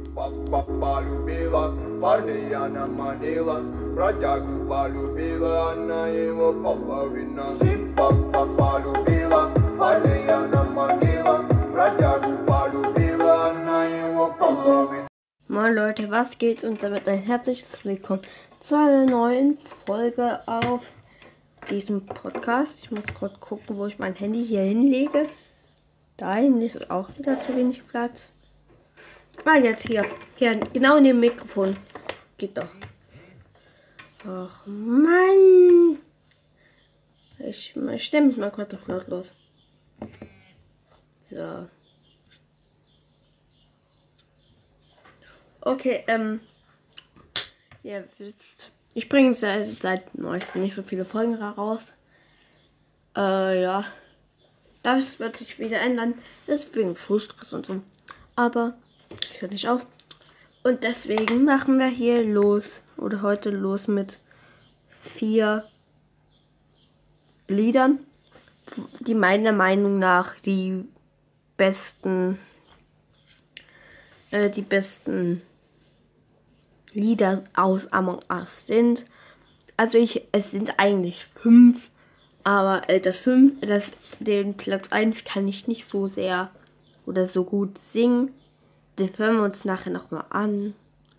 Полюбила парня я на Манила, бродягу полюбила, она его половина. Папа полюбила парня я на Манила, бродягу полюбила, она его половина. Moin Leute, was geht und damit ein herzliches Willkommen zu einer neuen Folge auf diesem Podcast. Ich muss kurz gucken, wo ich mein Handy hier hinlege. Dahin ist auch wieder zu wenig Platz. Jetzt hier genau in dem Mikrofon. Geht doch. Ach Mann. Ich stelle mich mal kurz auf lautlos. So. Okay, ihr wisst, ich bringe seit neuestem nicht so viele Folgen raus. Ja. Das wird sich wieder ändern. Das ist wegen Schulstress und so. Aber ich höre nicht auf. Und deswegen machen wir hier los. Oder heute los mit 4 Liedern, die meiner Meinung nach die besten Lieder aus Among Us sind. Also es sind eigentlich 5, aber den Platz 1 kann ich nicht so sehr oder so gut singen. Den hören wir uns nachher nochmal an.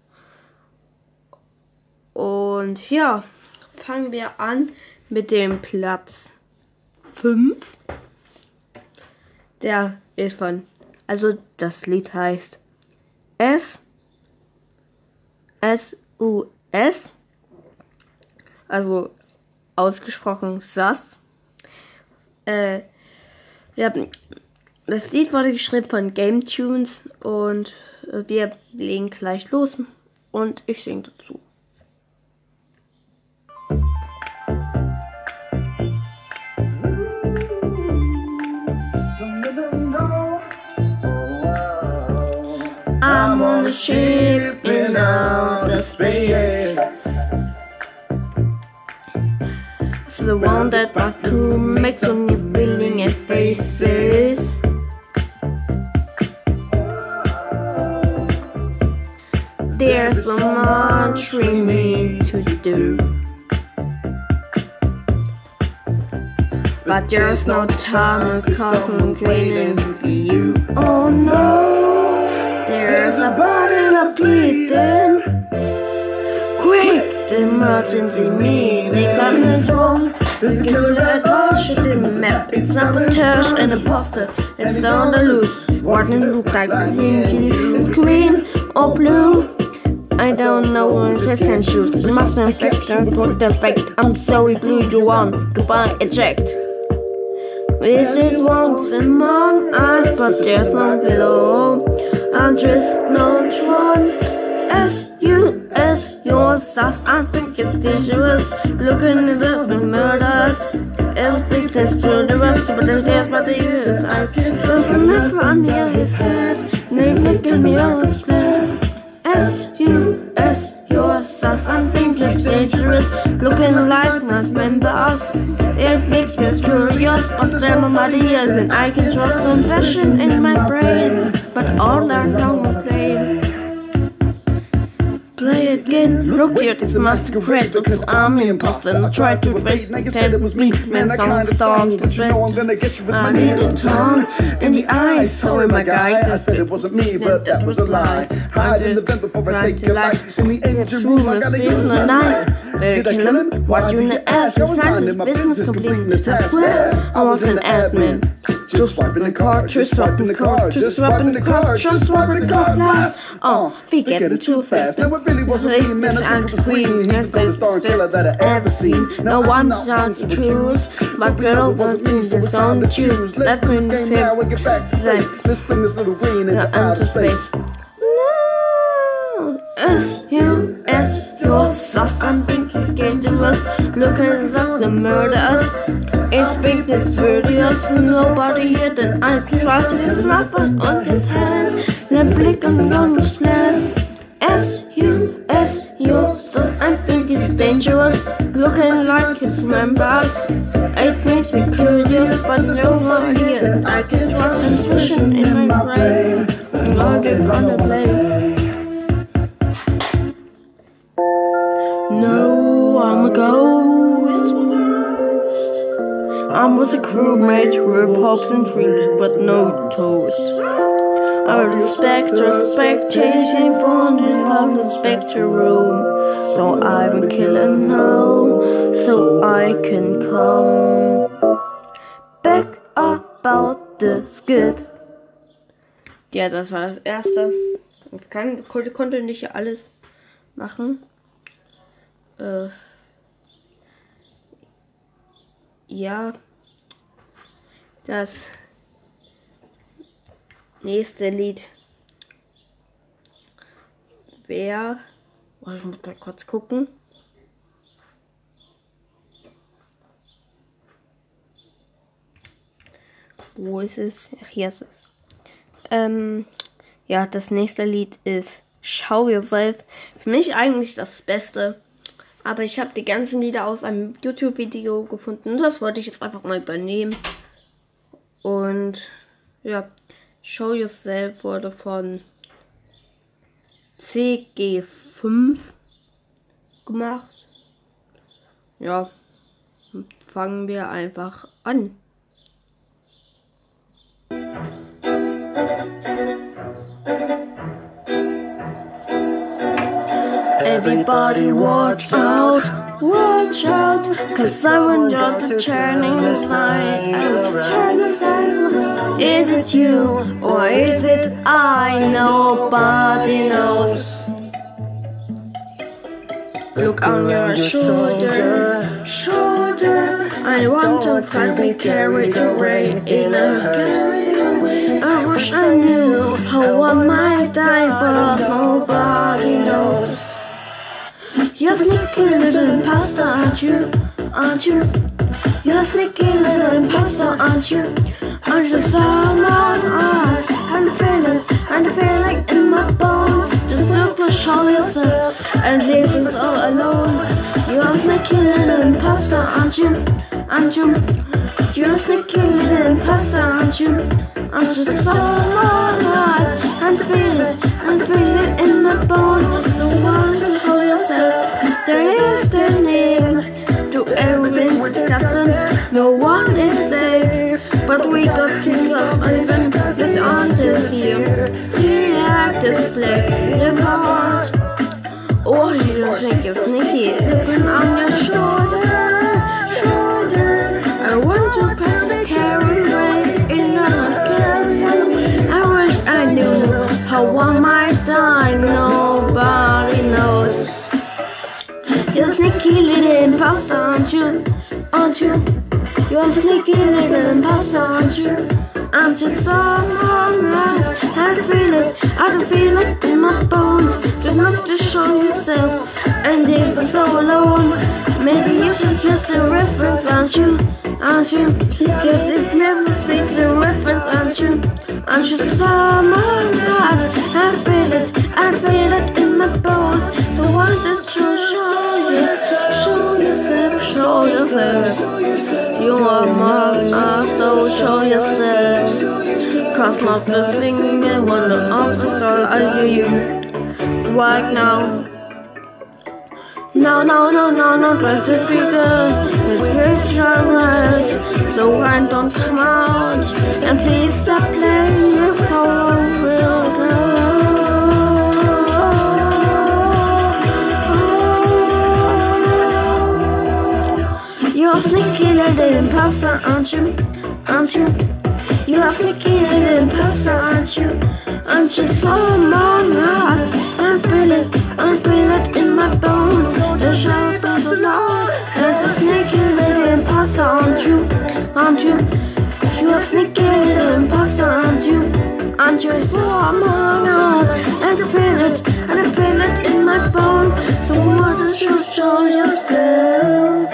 Und ja, fangen wir an mit dem Platz 5. Der ist das Lied heißt S-U-S, also ausgesprochen SAS. Ja, das Lied wurde geschrieben von Game Tunes und wir legen gleich los und ich singe dazu. I'm on a ship in outer space. It's the one that my crew makes when you're feeling at faces. There's so much remaining to do, but there's no time because I'm waiting for you. Oh no, there's a bottle of bleeding. Quick, the emergency meeting coming home. The killer torch in the map. It's sabotage and imposter. It's on the loose. What it look like? It's green or blue. I don't know what to send shoes. It must be infection for the fact. I'm sorry, blue you want. Goodbye, eject. This is once among us, but there's no below. I'm just not one. S-U-S, your sus. I think it's dangerous. Looking at the murders. It's big test to the rest, but there's but this I can't trust enough on near his head. Name making me out spread. S-U-S, your sus. I think it's dangerous. Looking like not members. It makes me curious, but I'm a ideas and I can trust confession in my brain. But all are now playing. Play it again, look here, this masquerade. Because I'm the imposter and I tried to wait. Pretend it was me, man, don't start to dread. I need a tongue in the eyes. Sorry, my guy, I said it wasn't me, but that was a lie. Hide in the vent before I take your life. In the engine room, I gotta use a knife. Did I kill him? What you in the ass? I was minding my business completely. I swear I was an admin. Just swiping the card, just swiping the card, just swiping the card, just swiping the card last. Oh, we getting too fast. Now it really wasn't me, man. I think it was Queen. That's the star killer that I ever seen. No one sounds the truth, but girl was just on the choose. Let's bring this now and get back to place. Let's bring this little green into outer space. No, S-U-S, your sus. I think he's dangerous. Looking at the murders. It's big, it's furious. Nobody here that I trust. It's not but on his hand. The blick on his plan. S-U-S, your sus. I think he's dangerous. Looking like his members. It makes me curious, but no one here that I can trust. And vision in my brain. Logic on the plane. was a crew made with hopes and dreams, but no toes. I was a spectre spectating from this lovely spectre room. So I will kill him now, so I can come back about the skid. Ja, das war das erste. Ich konnte nicht alles machen. Ja, das nächste Lied wäre, ich muss mal kurz gucken. Wo ist es? Ach, hier ist es. Ja, das nächste Lied ist Show Yourself. Für mich eigentlich das Beste. Aber ich habe die ganzen Lieder aus einem YouTube-Video gefunden. Das wollte ich jetzt einfach mal übernehmen. Und ja, Show Yourself wurde von CG5 gemacht. Ja, fangen wir einfach an. Everybody watch out, 'cause someone got the turning side. Is it you or is it I? Nobody knows. Look on your shoulder. I want to find me carried away in a sky. I wish I knew how I might die, but nobody knows. You're a sneaky little imposter, aren't you? You're a sneaky little imposter, aren't you? Aren't you someone else? And I feel like in my bones. Just look to show yourself and leave us all alone. You're a sneaky little imposter, aren't you? You're a sneaky little imposter, aren't you? Aren't you someone else? And I feel it in my bones. So why don't you show yourself? There is the name to everything with Jackson. No one is safe, but we got to go even this on this year. We have this play the part. Oh, you don't think you're sneaky? Looking on your shoulder. I want to carry away in a scary. I wish I knew how one might die. Nobody knows. You're a sneaky little imposter, aren't you? You're a sneaky little imposter, aren't you? Aren't you someone else? I don't feel it in my bones. Just have to show yourself and leave us all alone. Maybe you can just a reference, aren't you? Cause it never speaks a reference, aren't you? Aren't you someone else? I feel it in my bones. So why don't you show yourself? You are among us, so show yourself. Cause not the single one of the story are you right now. No, try to be good. It's your right. So why don't come out and please stop playing your phone real good. You're a sneaky little imposter, aren't you? You're a sneaky little imposter, aren't you? Aren't you someone else? I feel it in my bones. The shadows of the Lord. And a sneaky little imposter, aren't you? You're a sneaky little imposter, aren't you someone else? And I feel it in my bones. So why don't you show yourself?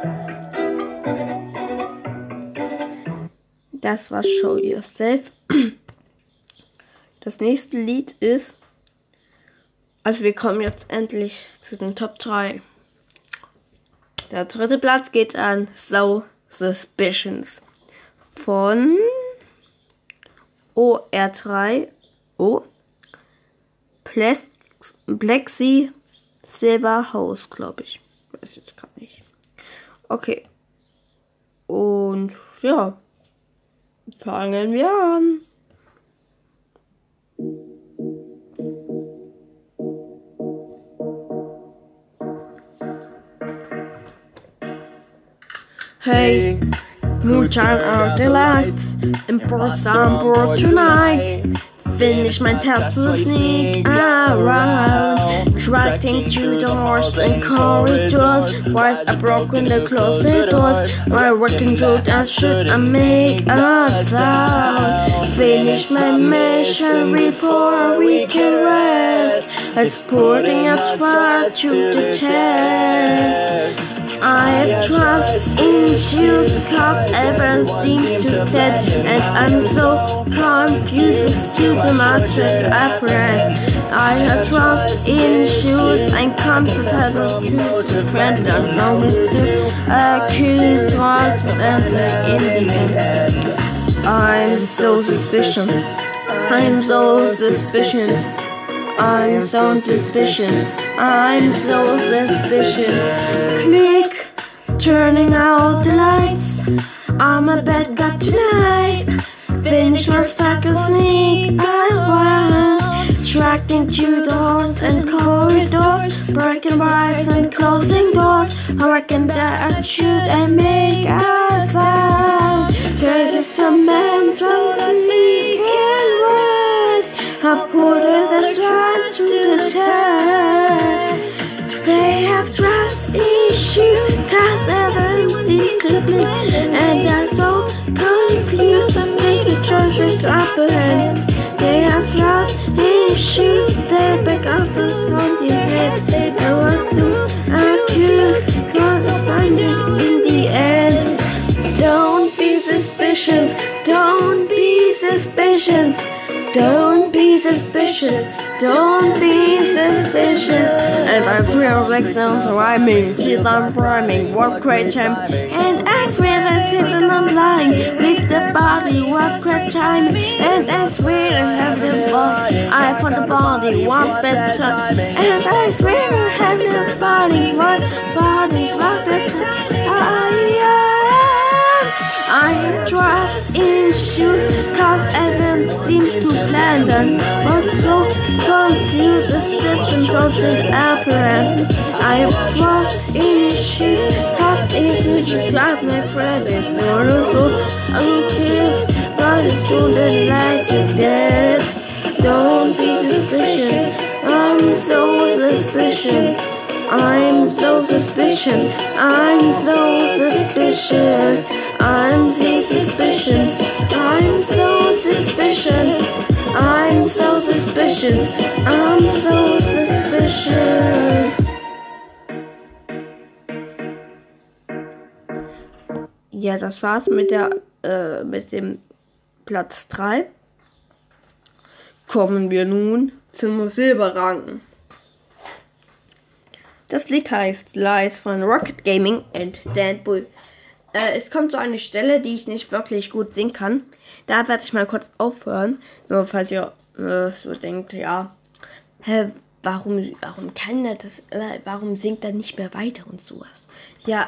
Das war Show Yourself. Das nächste Lied ist, also wir kommen jetzt endlich zu den Top 3. Der dritte Platz geht an So Suspicions von OR3 Plexi Silver House, glaube ich. Weiß jetzt gar nicht. Okay. Und ja, fangen wir an. Hey, mood turn out the lights and pour some board tonight. Finish my task to sneak around, attracting to doors and corridors. Whilst I broken the closed the doors, while working through that should I make a sound. Finish my mission before we can rest, exporting a threat to the test. I have trust in shoes, cause everyone seems to dead, and I'm so confused to the matter apparent. I have trust in shoes, I'm comfortable to friends and promise to accuse what's and in the end. I'm so suspicious, I'm so suspicious. I'm so suspicious, I'm so suspicious. Click, turning out the lights. I'm a bad guy tonight. Finish my stack of sneak around, attracting to doors and corridors, breaking bars and closing doors. I reckon that I should and make a sound. There is a man so we can rise. I've put the time to the test. They have trust issues, cause everyone sees to me, and they're so confused and make the choices up ahead. They have trust issues, they back up from the head. They want to accuse, cause it's finding in the end. Don't be suspicious, don't be suspicious. Don't be suspicious, don't be suspicious. And I swear like sounds rhyming, she's on rhyming, what great time. And I swear that even I'm lying, leave the body, what great time. And I swear I have the body, I found the body, what better. And I swear I have the body, what better. I have trust issues, cause everyone seems to plan them. But so confused, description touches apparent. I have trust issues, cause if you drive my friend is beautiful. I'm curious, but it's true that lights is dead. Don't be suspicious, I'm so suspicious. I'm so suspicious, I'm so suspicious. I'm so suspicious, I'm so suspicious. I'm so suspicious, I'm so suspicious. Ja, das war's mit dem Platz 3. Kommen wir nun zum Silberrang. Das Lied heißt Lies von Rocket Gaming and Dan Bull. Es kommt so eine Stelle, die ich nicht wirklich gut singen kann. Da werde ich mal kurz aufhören. Nur falls ihr so denkt, ja, warum kann er das, warum singt er nicht mehr weiter und sowas. Ja,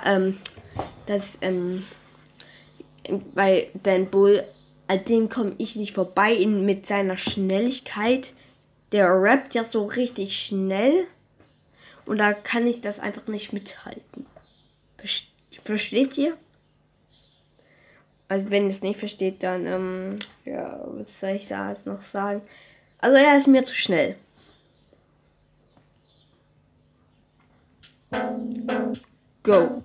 bei Dan Bull, an dem komme ich nicht vorbei mit seiner Schnelligkeit. Der rappt ja so richtig schnell. Und da kann ich das einfach nicht mithalten. Versteht ihr? Also wenn ihr es nicht versteht, dann, ja, was soll ich da jetzt noch sagen? Also er ist mir zu schnell. Go.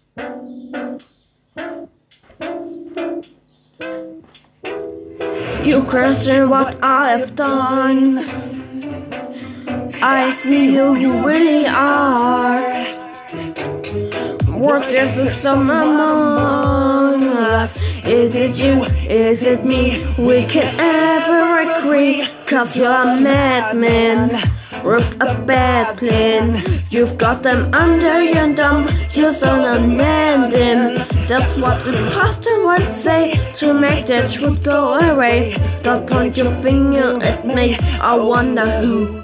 You question what I have done. I see who you really are. What is the sum among us? Is it you? Is it me? We can ever agree, cause you're a madman with a bad plan. You've got them under your thumb, you're so unmanned. That's what the pastor would say to make the truth go away. Don't point your finger at me, I wonder who.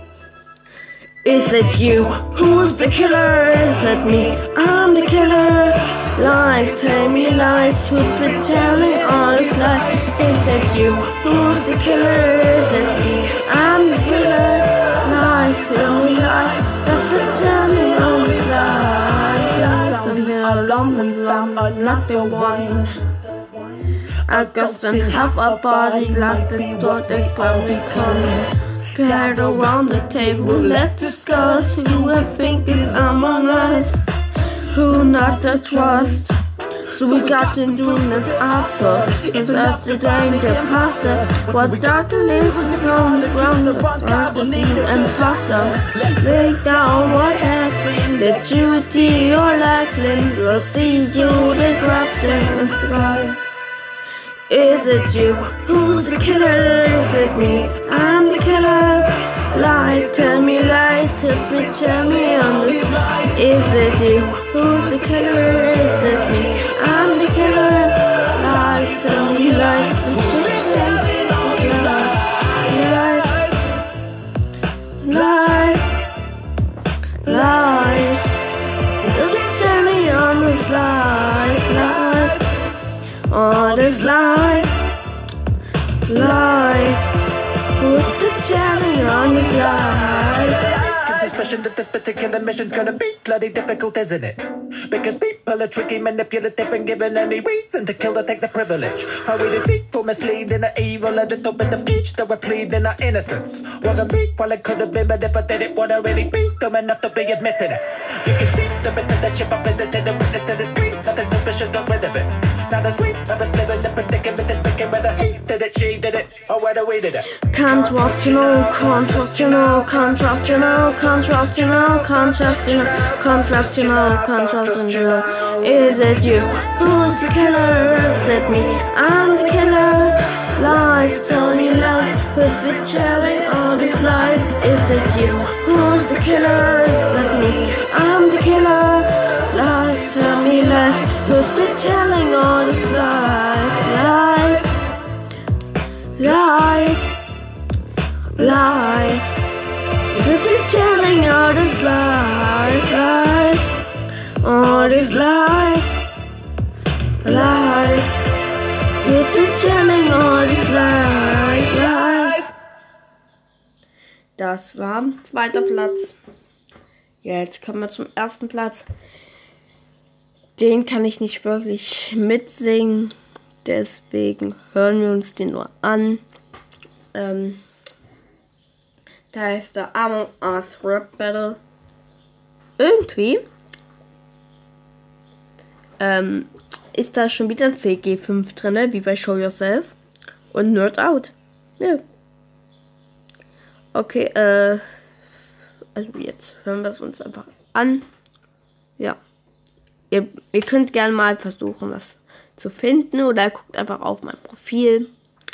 Is it you? Who's the killer? Is it me? I'm the killer. lies, tell me lies, who's been telling all his lies? Is it you? Who's the killer? Is it me? I'm the killer. Lies, tell me lies, who's been telling all his lies? Something alone and long, but nothing one. I guess and have a body like the door that probably comes. Get around the table, let's discuss who I think is among us, who not to trust. So we got to do an after, cause that's the danger pasta. What Dr. Lives from the ground of gasoline and pasta. Lay down what happened, the duty or Lackland. We'll see you, the craft in the sky. Is it you? Who's the killer? Is it me? I'm the killer. Lies, tell me lies, tell me on this. Is it you? Who's the killer? Is it me? I'm the killer. Lies, tell me lies, tell me lies. Lies, lies. Just tell me on this lies, lies. All these lies, lies. Who's been telling on these lies? Suspicion that this particular mission's gonna be bloody difficult, isn't it? Because people are tricky, manipulative, and given any reason to kill or take the privilege. Are we deceitful, misleading, or evil, or just open the speech that we're pleading our innocence? Wasn't me, well it could have been, but if I did it, would I really be dumb enough to be admitting it? You can see the bit of the chip I visited, the witness to the street, nothing suspicious, got rid of it. Not as sweet, I was living the predicament, it's picking whether he did it, she did it, or whether we did it. Can't trust you, no, can't trust you, no, can't trust you, no, can't trust you, no, can't trust you, no, can't trust you, no, can't trust you, no. Is it you? Who's the killer? Is it me? I'm the killer. Lies, tell me lies, who's been telling all these lies? Is it you? Who's the killer? Is it me? I'm the killer. Lies, tell me lies, who's been telling all these lies? Lies, lies, lies. Who's been telling all these lies, lies, all these lies, lies. Who's been telling all these lies, lies? Das war zweiter Platz. Jetzt kommen wir zum ersten Platz. Den kann ich nicht wirklich mitsingen, deswegen hören wir uns den nur an. Da ist der Among Us Rap Battle. Irgendwie ist da schon wieder CG5 drin, wie bei Show Yourself und Nerd Out. Ja. Okay, also jetzt hören wir es uns einfach an. Ja. Ihr könnt gerne mal versuchen, das zu finden, oder guckt einfach auf mein Profil.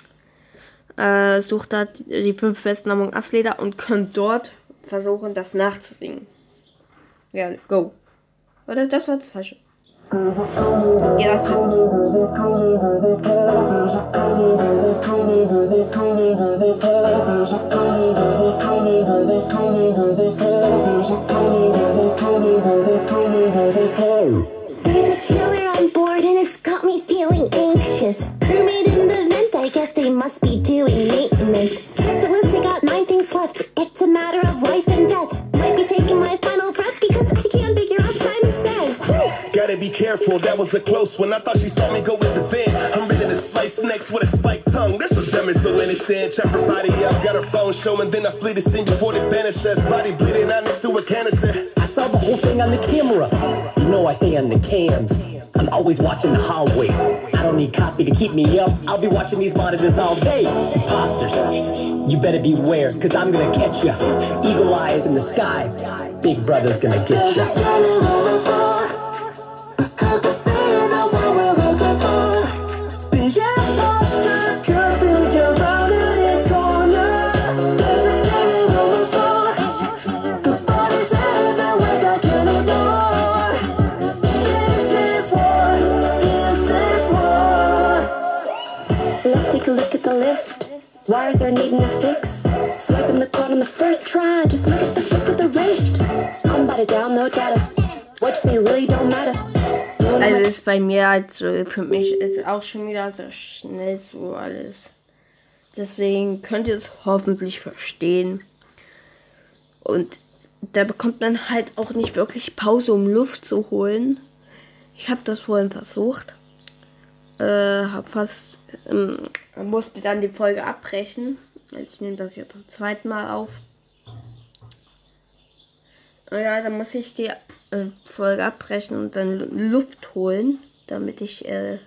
Sucht da die 5 besten Among Us Lieder und könnt dort versuchen, das nachzusingen. Ja, go. Oder das war das Falsche. Ja, das ist There's a killer on board and it's got me feeling anxious. Crewmate in the vent, I guess they must be doing maintenance. Check the list, I got 9 things left. It's a matter of life and death. Might be taking my final breath because I can't figure out Simon Says. Gotta be careful, that was a close one. I thought she saw me go with the vent. I'm ready to slice next with a spiked tongue. This was dumb and so innocent. Chop her body up, got her phone showing. Then I flee the scene before they banish us. Body bleeding out next to a canister. I saw the whole thing on the camera. You know I stay on the cams. I'm always watching the hallways. I don't need coffee to keep me up. I'll be watching these monitors all day. Imposters, you better beware, cause I'm gonna catch ya. Eagle eyes in the sky. Big brother's gonna get ya. Let's take a look at the list. Wires are needing a fix. Swiping the code on the first try. Just look at the flip of the wrist. I'm about to download data. What you say really don't matter. Also ist bei mir halt so, für mich ist auch schon wieder sehr schnell so alles. Deswegen könnt ihr es hoffentlich verstehen. Und da bekommt man halt auch nicht wirklich Pause, um Luft zu holen. Ich habe das vorhin versucht. Musste dann die Folge abbrechen. Ich nehme das jetzt zum zweiten Mal auf. Ja, dann muss ich die Folge abbrechen und dann Luft holen, damit ich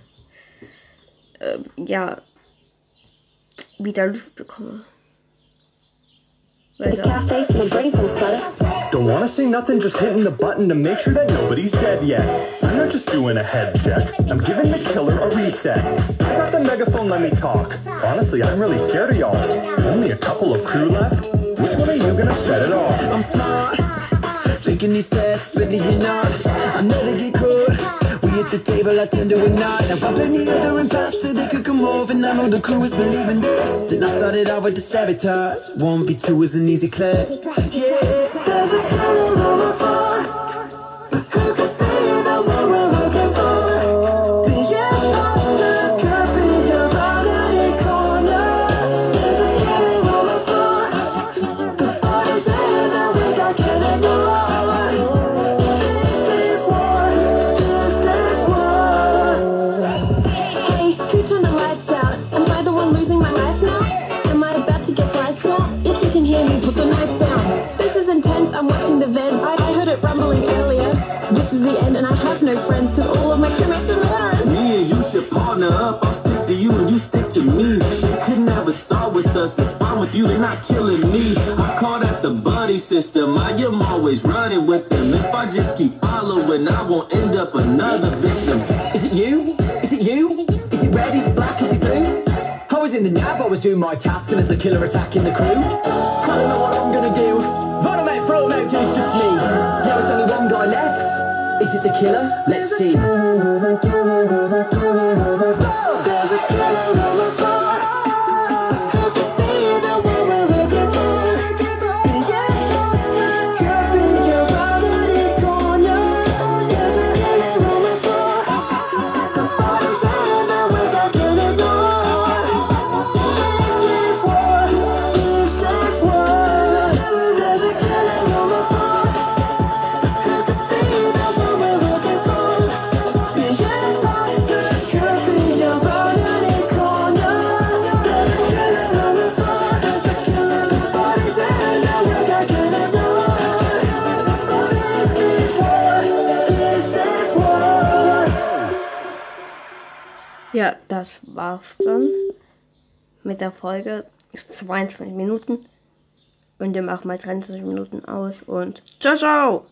wieder Luft bekomme. Don't wanna say nothing, just hitting the button to make sure that nobody's dead yet. I'm not just doing a head check, I'm giving the killer a reset. I got the megaphone, let me talk. Honestly, I'm really scared of y'all. Only a couple of crew left? Which one are you gonna set it off? I'm smart, thinking these tests, really you're not. I'm never get caught. We hit the table, I tend to not. Now up in the other and past so they could come over. And I know the crew is believing that. Then I started out with the sabotage. 1v2 is an easy clap. Yeah, there's a killer on the floor. Who could be the one we're looking for? The imposter could be around any corner. There's a killer on the floor. The body's in and we got killing the law. I'm watching the vents. I heard it rumbling earlier. This is the end and I have no friends because all of my crewmates are murderers. Me and you should partner up. I'll stick to you and you stick to me. They couldn't have a start with us. It's fine with you, they're not killing me. I call that the buddy system. I am always running with them. If I just keep following, I won't end up another victim. Is it you? Is it you? Is it red? Is it black? Is it blue? I was in the nav, I was doing my task and there's the killer attacking the crew. I don't know what I'm gonna do. Run away, throw him out till it's just me. Now it's only one guy left. Is it the killer? Let's see. There's a killer on the floor. Who could be the one we're looking for? The imposter could be around any corner. There's a killer on the floor. The body's in and we got killing the war. This is war. This is war. There's a killer on the floor. Who could be the one we're looking for? The imposter could be around any corner. There's a killer on the floor. There's a killer. The body's in and we got killing the war. This is war. This is war. Ja, das war's dann mit der Folge. 22 Minuten. Und wir machen mal 23 Minuten aus und ciao, ciao!